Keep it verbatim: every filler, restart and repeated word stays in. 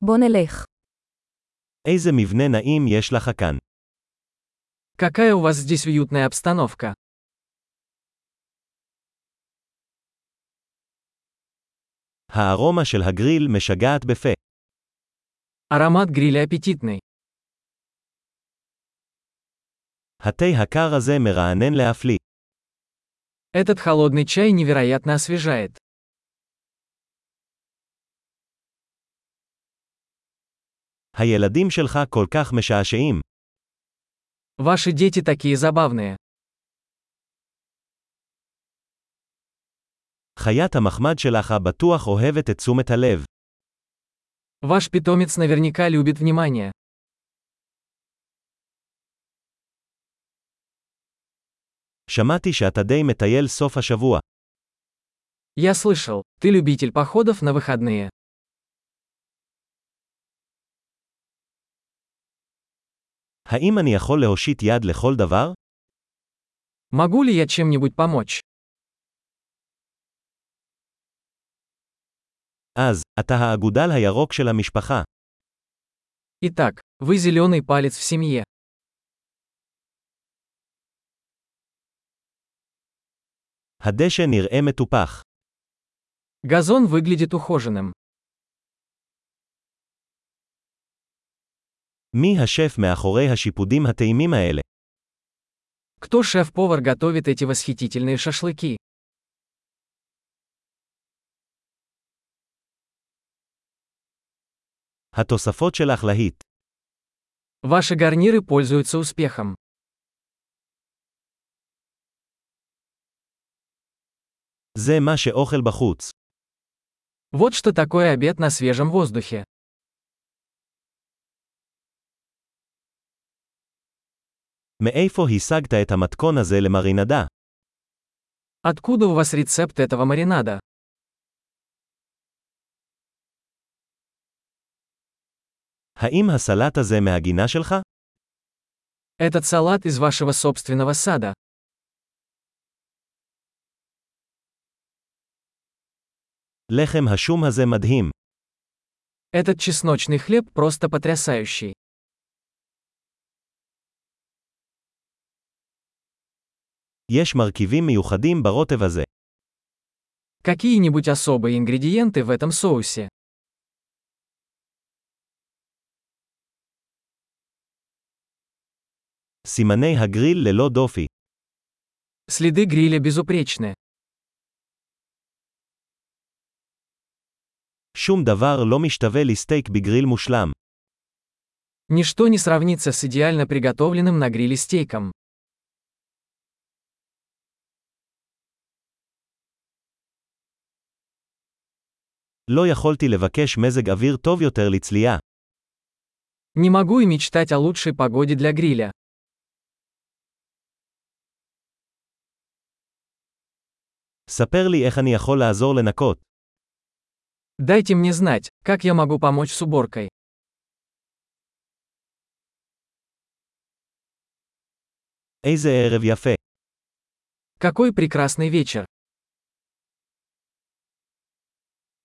בוא נלך. איזה מבנה נעים יש לך כאן. Какая у вас здесь уютная обстановка. הארומה של הגריל משגעת בפה. Аромат гриля аппетитный. התה הקר הזה מרענן להפליא. Этот холодный чай невероятно освежает. הילדים שלך כל כך משעשעים. Ваши дети такие забавные. חיית המחמד שלך בטוח אוהבת את תשומת הלב. Ваш питомец наверняка любит внимание. שמעתי שאתה די מטייל סוף השבוע. Я слышал, ты любитель походов на выходные. האם אני יכול להושיט יד לכל דבר? Могу ли я чем-нибудь помочь? אז, אתה האגודל הירוק של המשפחה. Итак, вы зеленый палец в семье. הדשא נראה מטופח. Газон выглядит ухоженным. מי השף מאחורי השיפודים הטעימים האלה? Кто шеф-повар готовит эти восхитительные шашлыки? התוספות שלך להיט. Ваши гарниры пользуются успехом. זה מה שאוכל בחוץ. Вот что такое обед на свежем воздухе. מאיפה השגת את המתכון הזה למרינדה? Откуда у вас рецепт этого маринада? האם הסלט הזה מהגינה שלך? Этот салат из вашего собственного сада. לחם השום הזה מדהים. Этот чесночный хлеб просто потрясающий. יש מרכיבים מיוחדים ברוטב הזה. Какие-нибудь особые ингредиенты в этом соусе? סימני הגריל ללא דופי. Следы гриля безупречны. שום דבר לא משתווה לסטייק בגריל מושלם. Ничто не сравнится с идеально приготовленным на гриле стейком. לא יכולתי לבקש מזג אוויר טוב יותר לצלייה. Не могу и мечтать о лучшей погоде для гриля. ספר לי איך אני יכול לעזור לנקות. Дайте мне знать, как я могу помочь с уборкой. איזה ערב יפה. Какой прекрасный вечер.